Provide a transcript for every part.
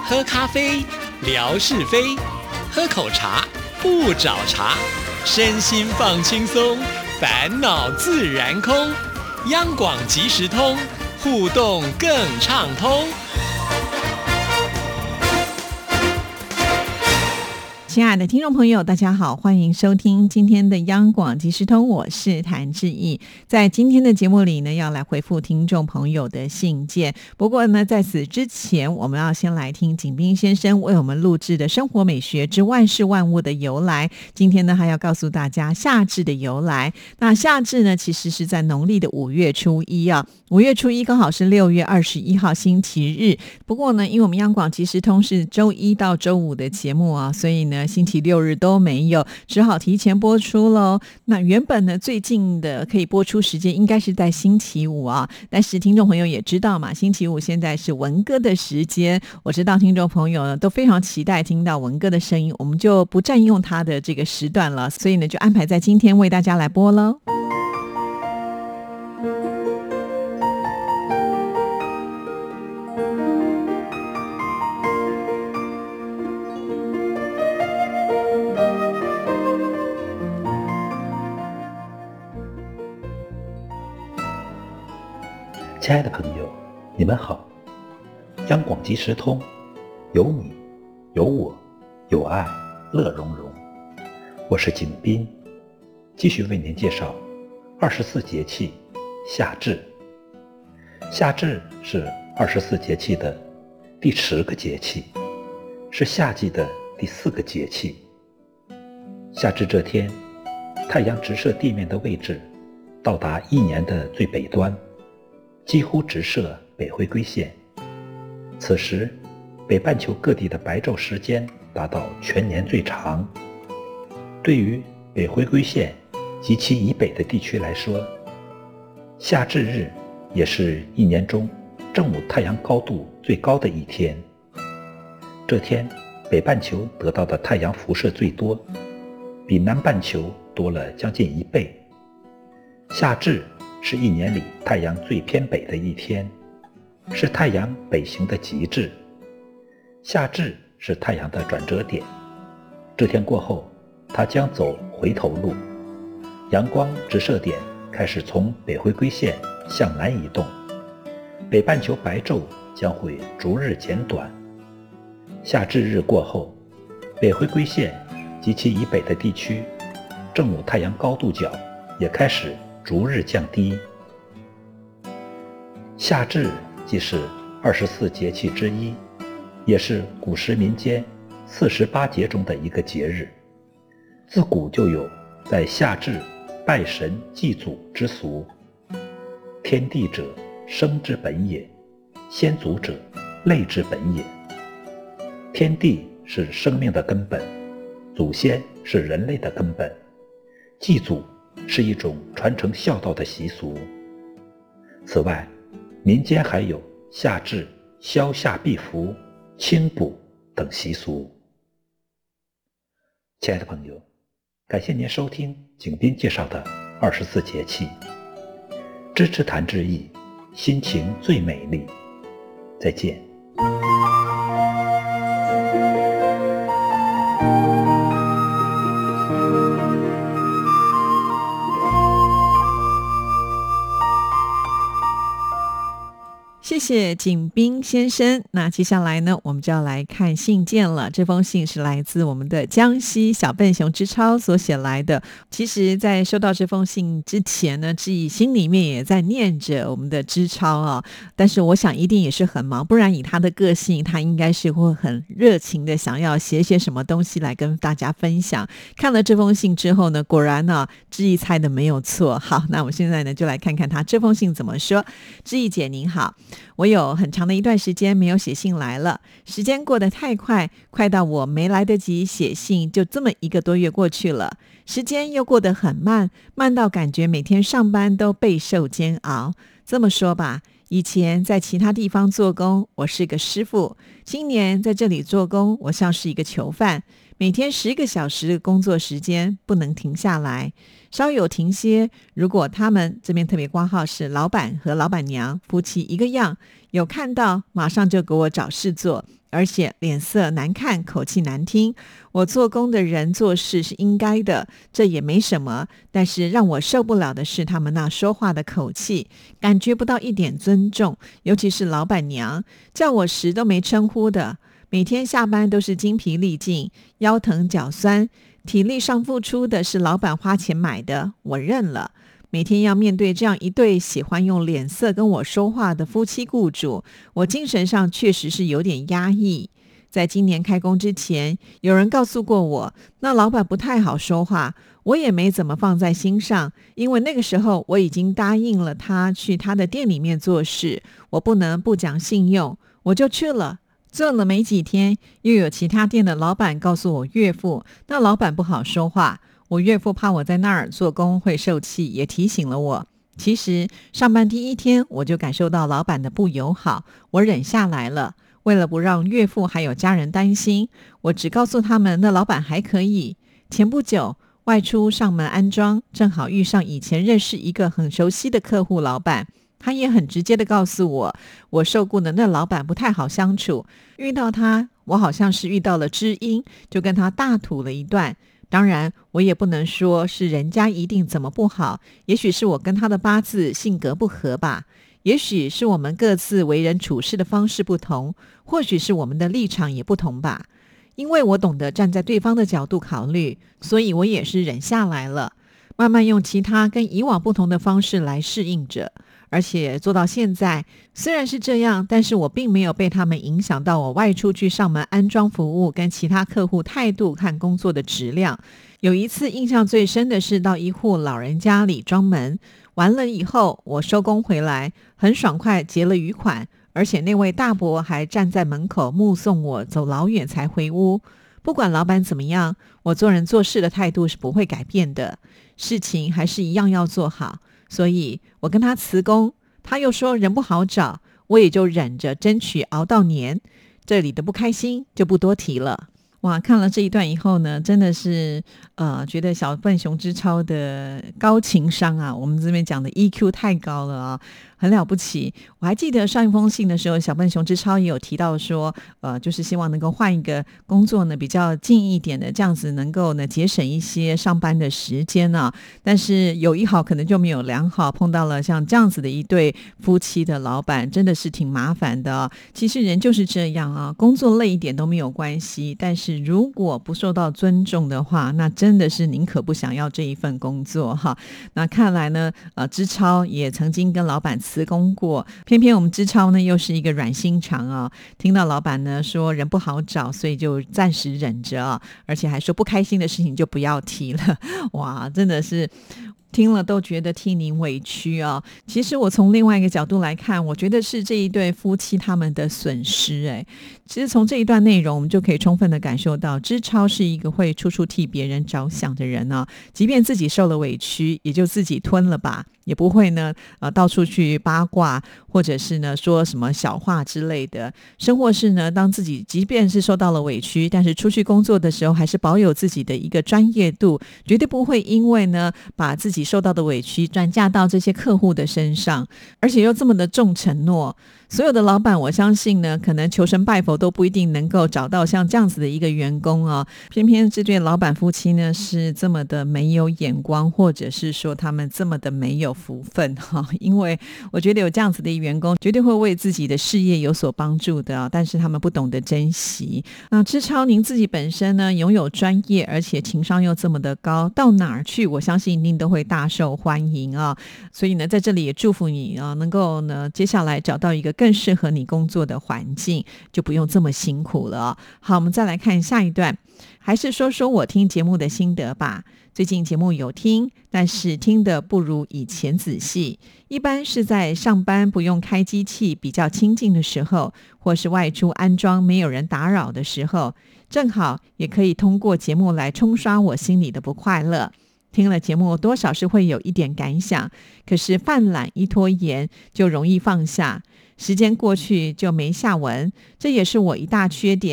喝咖啡，聊是非；喝口茶，不找茬。身心放轻松，烦恼自然空。央广即时通，互动更畅通。 亲爱的听众朋友，大家好，欢迎收听今天的央广即时通，我是谭志毅。在今天的节目里呢，要来回复听众朋友的信件。不过呢，在此之前，我们要先来听景斌先生为我们录制的《生活美学之万事万物的由来》。今天呢，还要告诉大家夏至的由来。那夏至呢，其实是在农历的5月初一啊。5月初一刚好是6月21号星期日。不过呢，因为我们央广即时通是周一到周五的节目啊，所以呢星期六日都没有，只好提前播出咯。那原本呢最近的可以播出时间应该是在星期五啊，但是听众朋友也知道嘛，星期五现在是文哥的时间，我知道听众朋友呢都非常期待听到文哥的声音，我们就不占用他的这个时段了，所以呢就安排在今天为大家来播咯。 亲爱的朋友，你们好！央广即时通，有你，有我，有爱，乐融融。我是景斌，继续为您介绍24节气夏至。夏至是24节气的第10个节气，是夏季的第4个节气。夏至这天，太阳直射地面的位置到达一年的最北端，几乎直射北回归线。此时北半球各地的白昼时间达到全年最长。对于北回归线及其以北的地区来说，夏至日也是一年中正午太阳高度最高的一天。这天北半球得到的太阳辐射最多，比南半球多了将近1倍。夏至是一年里太阳最偏北的一天，是太阳北行的极致。夏至是太阳的转折点，这天过后，它将走回头路，阳光直射点开始从北回归线向南移动，北半球白昼将会逐日减短。夏至日过后，北回归线及其以北的地区，正午太阳高度角也开始逐日降低。夏至既是24节气之一，也是古时民间48节中的一个节日。自古就有在夏至拜神祭祖之俗。天地者，生之本也；先祖者，类之本也。天地是生命的根本，祖先是人类的根本，祭祖是一种传承孝道的习俗。此外，民间还有夏至消夏避伏、清补等习俗。亲爱的朋友，感谢您收听景斌介绍的24节气，支持谭志毅，心情最美丽。再见。 谢谢景斌先生。那接下来呢，我们就要来看信件了。这封信是来自我们的江西小笨熊之超所写来的。其实在收到这封信之前呢，志毅心里面也在念着我们的之超啊，但是我想一定也是很忙，不然以他的个性，他应该是会很热情的想要写什么东西来跟大家分享。看了这封信之后呢，果然呢，志毅猜的没有错。好，那我们现在呢就来看看他这封信怎么说。志毅姐您好，我有很长的一段时间没有写信来了，时间过得太快，快到我没来得及写信，就这么1个多月过去了。时间又过得很慢，慢到感觉每天上班都备受煎熬。这么说吧，以前在其他地方做工，我是个师傅；今年在这里做工，我像是一个囚犯。 每天10个小时的工作时间不能停下来，稍有停歇，如果他们这边特别括号是老板和老板娘夫妻一个样，有看到马上就给我找事做，而且脸色难看，口气难听。我做工的人做事是应该的，这也没什么，但是让我受不了的是他们那说话的口气，感觉不到一点尊重，尤其是老板娘，叫我时都没称呼的，每天下班都是精疲力尽，腰疼脚酸，体力上付出的是老板花钱买的，我认了。每天要面对这样一对喜欢用脸色跟我说话的夫妻雇主，我精神上确实是有点压抑。在今年开工之前，有人告诉过我，那老板不太好说话，我也没怎么放在心上，因为那个时候我已经答应了他去他的店里面做事，我不能不讲信用，我就去了。做了没几天，又有其他店的老板告诉我岳父，那老板不好说话，我岳父怕我在那儿做工会受气，也提醒了我。其实上班第1天我就感受到老板的不友好，我忍下来了。为了不让岳父还有家人担心，我只告诉他们那老板还可以。前不久外出上门安装，正好遇上以前认识一个很熟悉的客户老板，他也很直接的告诉我，我受雇的那老板不太好相处，遇到他我好像是遇到了知音，就跟他大吐了一段。当然我也不能说是人家一定怎么不好，也许是我跟他的八字性格不合吧，也许是我们各自为人处事的方式不同，或许是我们的立场也不同吧。因为我懂得站在对方的角度考虑，所以我也是忍下来了，慢慢用其他跟以往不同的方式来适应着。而且做到现在，虽然是这样，但是我并没有被他们影响到我外出去上门安装服务跟其他客户态度和工作的质量。有一次印象最深的是到一户老人家里装门，完了以后我收工回来，很爽快结了余款，而且那位大伯还站在门口目送我走老远才回屋。不管老板怎么样，我做人做事的态度是不会改变的，事情还是一样要做好。所以我跟他辞工，他又说人不好找，我也就忍着争取熬到年。这里的不开心就不多提了。哇，看了这一段以后呢，真的是觉得小笨熊之超的高情商啊，我们这边讲的 EQ 太高了啊，很了不起。我还记得上一封信的时候，小笨熊之超也有提到说就是希望能够换一个工作呢比较近一点的，这样子能够呢节省一些上班的时间啊。但是有一好可能就没有两好，碰到了像这样子的一对夫妻的老板，真的是挺麻烦的啊。其实人就是这样啊，工作累一点都没有关系，但是如果不受到尊重的话，那真的是宁可不想要这一份工作哈。那看来呢之超也曾经跟老板辞工过，偏偏我们之超呢又是一个软心肠啊，听到老板呢说人不好找，所以就暂时忍着啊，而且还说不开心的事情就不要提了。哇，真的是听了都觉得替您委屈啊。其实我从另外一个角度来看，我觉得是这一对夫妻他们的损失。其实从这一段内容我们就可以充分的感受到，之超是一个会处处替别人着想的人啊，即便自己受了委屈也就自己吞了吧，也不会呢到处去八卦，或者是呢说什么小话之类的。生活是呢，当自己即便是受到了委屈，但是出去工作的时候还是保有自己的一个专业度，绝对不会因为呢把自己受到的委屈转嫁到这些客户的身上，而且又这么的重承诺。所有的老板我相信呢，可能求神拜佛都不一定能够找到像这样子的一个员工啊。偏偏这对老板夫妻呢是这么的没有眼光，或者是说他们这么的没有福分哈。因为我觉得有这样子的员工绝对会为自己的事业有所帮助的但是他们不懂得珍惜。那之超您自己本身呢拥有专业，而且情商又这么的高，到哪儿去我相信一定都会大受欢迎啊。所以呢在这里也祝福你能够呢接下来找到一个更适合你工作的环境，就不用这么辛苦了好，我们再来看下一段，还是说说我听节目的心得吧。最近节目有听，但是听得不如以前仔细，一般是在上班不用开机器比较清静的时候，或是外出安装没有人打扰的时候，正好也可以通过节目来冲刷我心里的不快乐。听了节目多少是会有一点感想，可是犯懒一拖延就容易放下，时间过去就没下文，这也是我一大缺点。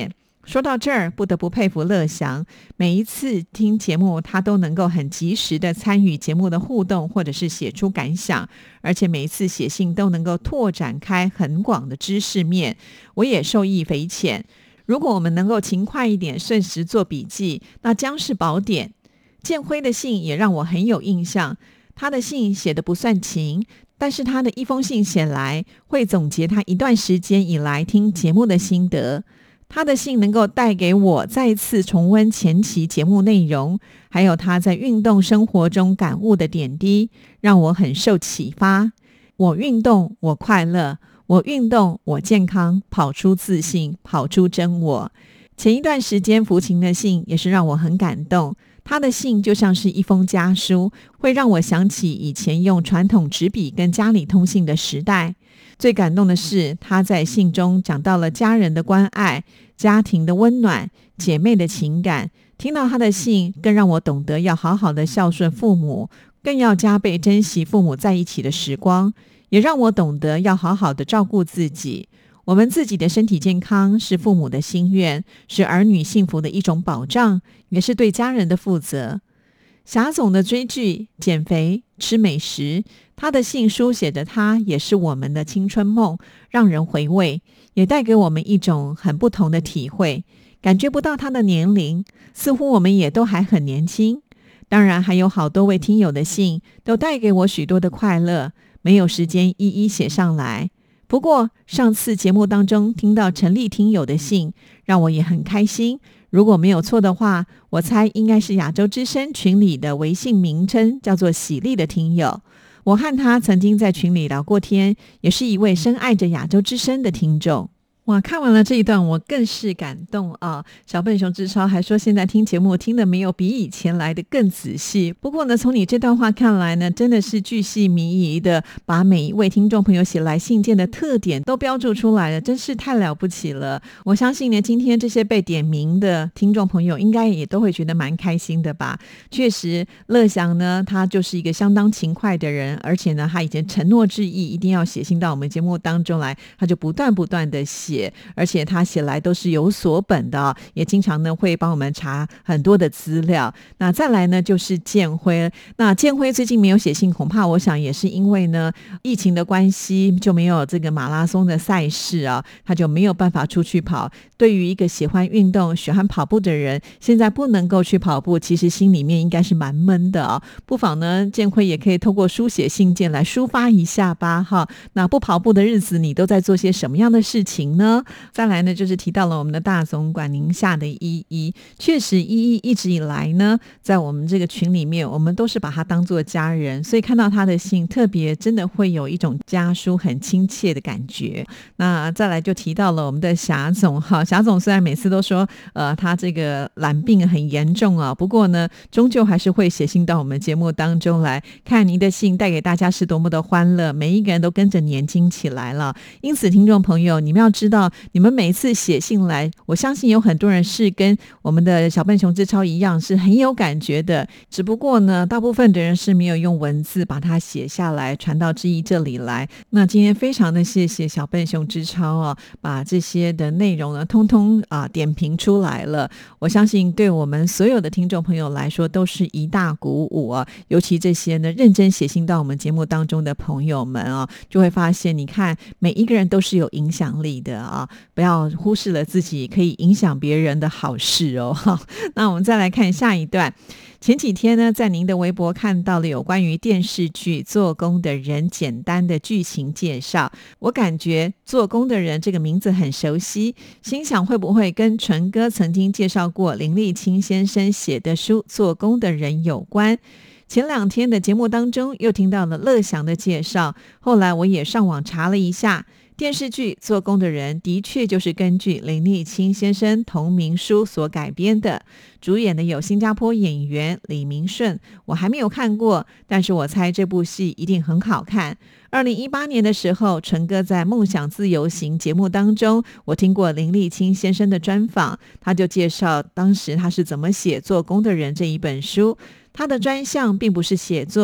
说到这儿，不得不佩服乐祥，每一次听节目他都能够很及时的参与节目的互动，或者是写出感想，而且每一次写信都能够拓展开很广的知识面，我也受益匪浅。如果我们能够勤快一点，顺时做笔记，那将是宝典。建辉的信也让我很有印象，他的信写得不算勤，但是他的一封信写来，会总结他一段时间以来听节目的心得。他的信能够带给我再次重温前期节目内容，还有他在运动生活中感悟的点滴，让我很受启发。我运动，我快乐；我运动，我健康，跑出自信，跑出真我。前一段时间福琴的信也是让我很感动，他的信就像是一封家书，会让我想起以前用传统纸笔跟家里通信的时代。最感动的是，他在信中讲到了家人的关爱、家庭的温暖、姐妹的情感。听到他的信，更让我懂得要好好的孝顺父母，更要加倍珍惜父母在一起的时光，也让我懂得要好好的照顾自己。我们自己的身体健康是父母的心愿，是儿女幸福的一种保障，也是对家人的负责。霞总的追剧、减肥、吃美食，他的信书写的他也是我们的青春梦，让人回味，也带给我们一种很不同的体会。感觉不到他的年龄，似乎我们也都还很年轻。当然还有好多位听友的信都带给我许多的快乐，没有时间一一写上来。不过上次节目当中听到陈丽听友的信，让我也很开心。如果没有错的话，我猜应该是亚洲之声群里的微信名称叫做喜丽的听友。我和他曾经在群里聊过天，也是一位深爱着亚洲之声的听众。哇，看完了这一段我更是感动啊！小笨熊之超还说现在听节目听得没有比以前来的更仔细。不过呢，从你这段话看来呢，真的是巨细靡遗的把每一位听众朋友写来信件的特点都标注出来了，真是太了不起了。我相信呢，今天这些被点名的听众朋友应该也都会觉得蛮开心的吧。确实乐祥呢，他就是一个相当勤快的人，而且呢他以前承诺致意一定要写信到我们节目当中来，他就不断的写，而且他写来都是有所本的也经常呢会帮我们查很多的资料。那再来呢就是建辉，那建辉最近没有写信，恐怕我想也是因为呢疫情的关系，就没有这个马拉松的赛事他就没有办法出去跑。对于一个喜欢运动喜欢跑步的人，现在不能够去跑步，其实心里面应该是蛮闷的不妨呢建辉也可以透过书写信件来抒发一下吧那不跑步的日子你都在做些什么样的事情呢？再来呢就是提到了我们的大总管宁夏的依依，确实依依一直以来呢在我们这个群里面，我们都是把他当作家人，所以看到他的信特别真的会有一种家书很亲切的感觉。那再来就提到了我们的霞总霞总虽然每次都说他这个懒病很严重不过呢终究还是会写信到我们节目当中来，看您的信带给大家是多么的欢乐，每一个人都跟着年轻起来了。因此听众朋友，你们要知道你们每一次写信来，我相信有很多人是跟我们的小笨熊之超一样是很有感觉的，只不过呢大部分的人是没有用文字把它写下来传到志毅这里来。那今天非常的谢谢小笨熊之超把这些的内容呢通通点评出来了，我相信对我们所有的听众朋友来说都是一大鼓舞尤其这些呢认真写信到我们节目当中的朋友们就会发现你看每一个人都是有影响力的不要忽视了自己可以影响别人的好事那我们再来看下一段。前几天呢在您的微博看到了有关于电视剧《做工的人》简单的剧情介绍，我感觉做工的人这个名字很熟悉，心想会不会跟纯哥曾经介绍过林立青先生写的书《做工的人》有关。前2天的节目当中又听到了乐祥的介绍，后来我也上网查了一下，电视剧《做工的人》的确就是根据林立青先生同名书所改编的，主演的有新加坡演员李明顺，我还没有看过，但是我猜这部戏一定很好看。2018年的时候，纯哥在梦想自由行节目当中，我听过林立青先生的专访，他就介绍当时他是怎么写《做工的人》这一本书。他的专项并不是写作，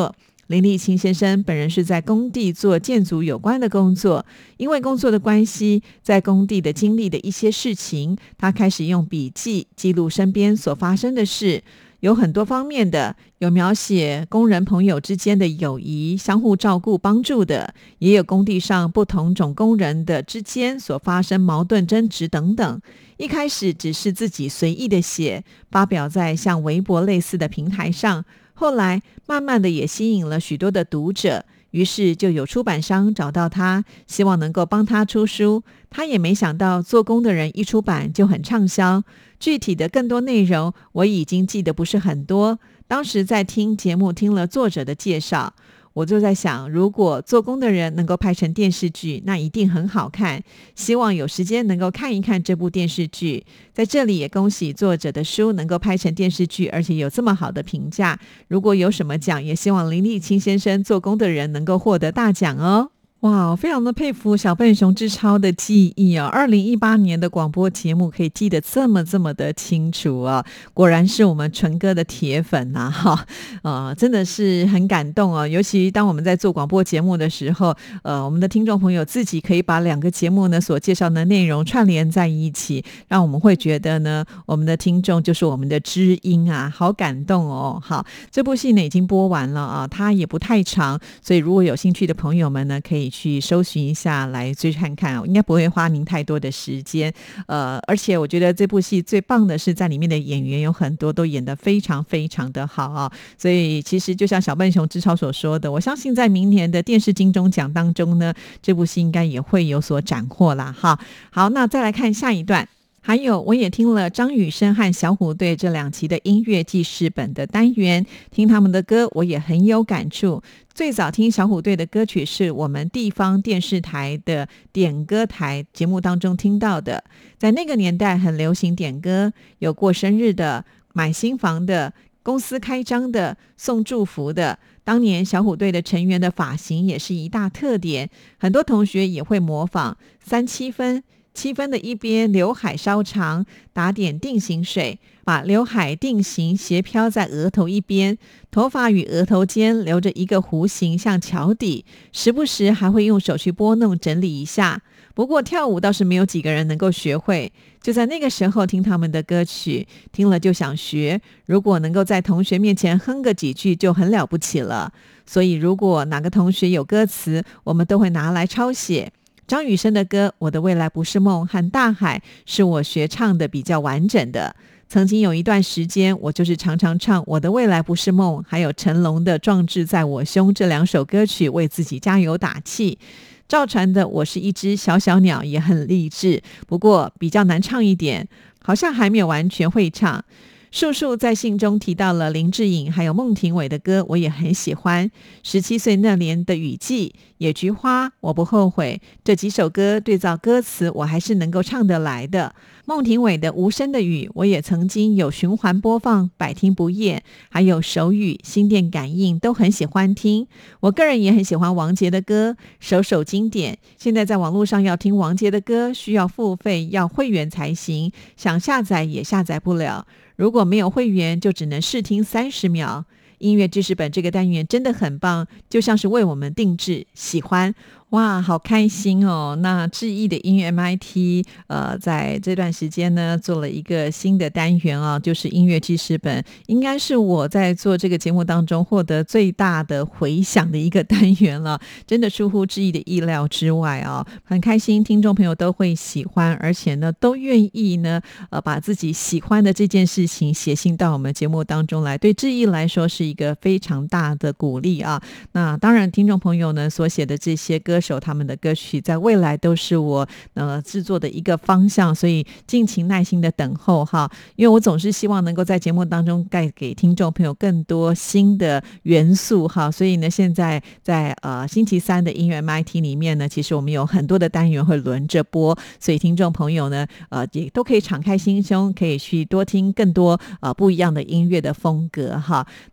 林立清先生本人是在工地做建筑有关的工作，因为工作的关系，在工地的经历的一些事情，他开始用笔记记录身边所发生的事，有很多方面的，有描写工人朋友之间的友谊，相互照顾帮助的，也有工地上不同种工人的之间所发生矛盾争执等等。一开始只是自己随意的写，发表在像微博类似的平台上，后来慢慢的也吸引了许多的读者，于是就有出版商找到他，希望能够帮他出书。他也没想到做工的人一出版就很畅销，具体的更多内容我已经记得不是很多，当时在听节目听了作者的介绍，我就在想，如果做工的人能够拍成电视剧，那一定很好看，希望有时间能够看一看这部电视剧。在这里也恭喜作者的书能够拍成电视剧，而且有这么好的评价，如果有什么奖，也希望林立清先生做工的人能够获得大奖哦。哇，非常的佩服小笨熊之超的记忆啊！2018年的广播节目可以记得这么的清楚啊，果然是我们纯哥的铁粉呐哈！真的是很感动哦，尤其当我们在做广播节目的时候，我们的听众朋友自己可以把两个节目呢所介绍的内容串联在一起，让我们会觉得呢，我们的听众就是我们的知音啊，好感动哦！好，这部戏呢已经播完了啊，它也不太长，所以如果有兴趣的朋友们呢，可以去搜寻一下来追看看，应该不会花您太多的时间。而且我觉得这部戏最棒的是在里面的演员有很多都演得非常的好啊，所以其实就像小笨熊之超所说的，我相信在明年的电视金钟奖当中呢，这部戏应该也会有所斩获啦哈。好，那再来看下一段。还有我也听了张雨生和小虎队这2期的音乐记事本的单元，听他们的歌我也很有感触。最早听小虎队的歌曲是我们地方电视台的点歌台节目当中听到的，在那个年代很流行点歌，有过生日的、买新房的、公司开张的、送祝福的。当年小虎队的成员的发型也是一大特点，很多同学也会模仿3-7分，7分的一边刘海稍长，打点定型水，把刘海定型斜飘在额头一边，头发与额头间留着一个弧形像桥底，时不时还会用手去拨弄整理一下。不过跳舞倒是没有几个人能够学会，就在那个时候听他们的歌曲，听了就想学，如果能够在同学面前哼个几句就很了不起了。所以如果哪个同学有歌词，我们都会拿来抄写。张雨生的歌《我的未来不是梦》和《大海》是我学唱的比较完整的。曾经有一段时间，我就是常常唱《我的未来不是梦》还有成龙的《壮志在我胸》这2首歌曲为自己加油打气。赵传的《我是一只小小鸟》也很励志，不过比较难唱一点，好像还没有完全会唱。树树在信中提到了林志颖还有孟庭苇的歌，我也很喜欢。17岁那年的雨季、野菊花、我不后悔，这几首歌对照歌词我还是能够唱得来的。孟庭苇的无声的雨我也曾经有循环播放，百听不厌，还有手语、心电感应都很喜欢听。我个人也很喜欢王杰的歌，首首经典。现在在网络上要听王杰的歌需要付费，要会员才行，想下载也下载不了，如果没有会员就只能试听30秒。音乐知识本这个单元真的很棒，就像是为我们定制，喜欢。哇，好开心哦！那志毅的音乐 MIT 在这段时间呢做了一个新的单元啊，就是音乐记事本，应该是我在做这个节目当中获得最大的回响的一个单元了，真的出乎志毅的意料之外啊，很开心听众朋友都会喜欢，而且呢都愿意呢把自己喜欢的这件事情写信到我们节目当中来，对志毅来说是一个非常大的鼓励啊。那当然听众朋友呢所写的这些歌手他们的歌曲在未来都是我制作的一个方向，所以敬请耐心的等候哈，因为我总是希望能够在节目当中带给听众朋友更多新的元素哈，所以呢现在在星期三的音乐 MIT 里面呢，其实我们有很多的单元会轮着播，所以听众朋友呢也都可以敞开心胸，可以去多听更多不一样的音乐的风格哈。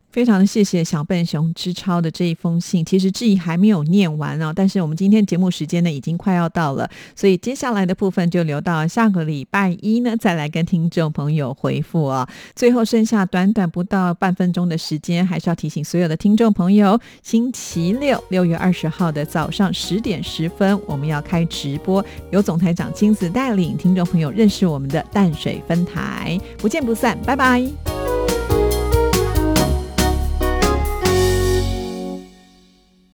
非常的谢谢小笨熊之超的这一封信，其实志毅还没有念完但是我们今天节目时间呢已经快要到了，所以接下来的部分就留到下个礼拜一呢再来跟听众朋友回复最后剩下短短不到半分钟的时间，还是要提醒所有的听众朋友，星期六6月20号的早上10点10分我们要开直播，由总台长亲自带领听众朋友认识我们的淡水分台，不见不散，拜拜。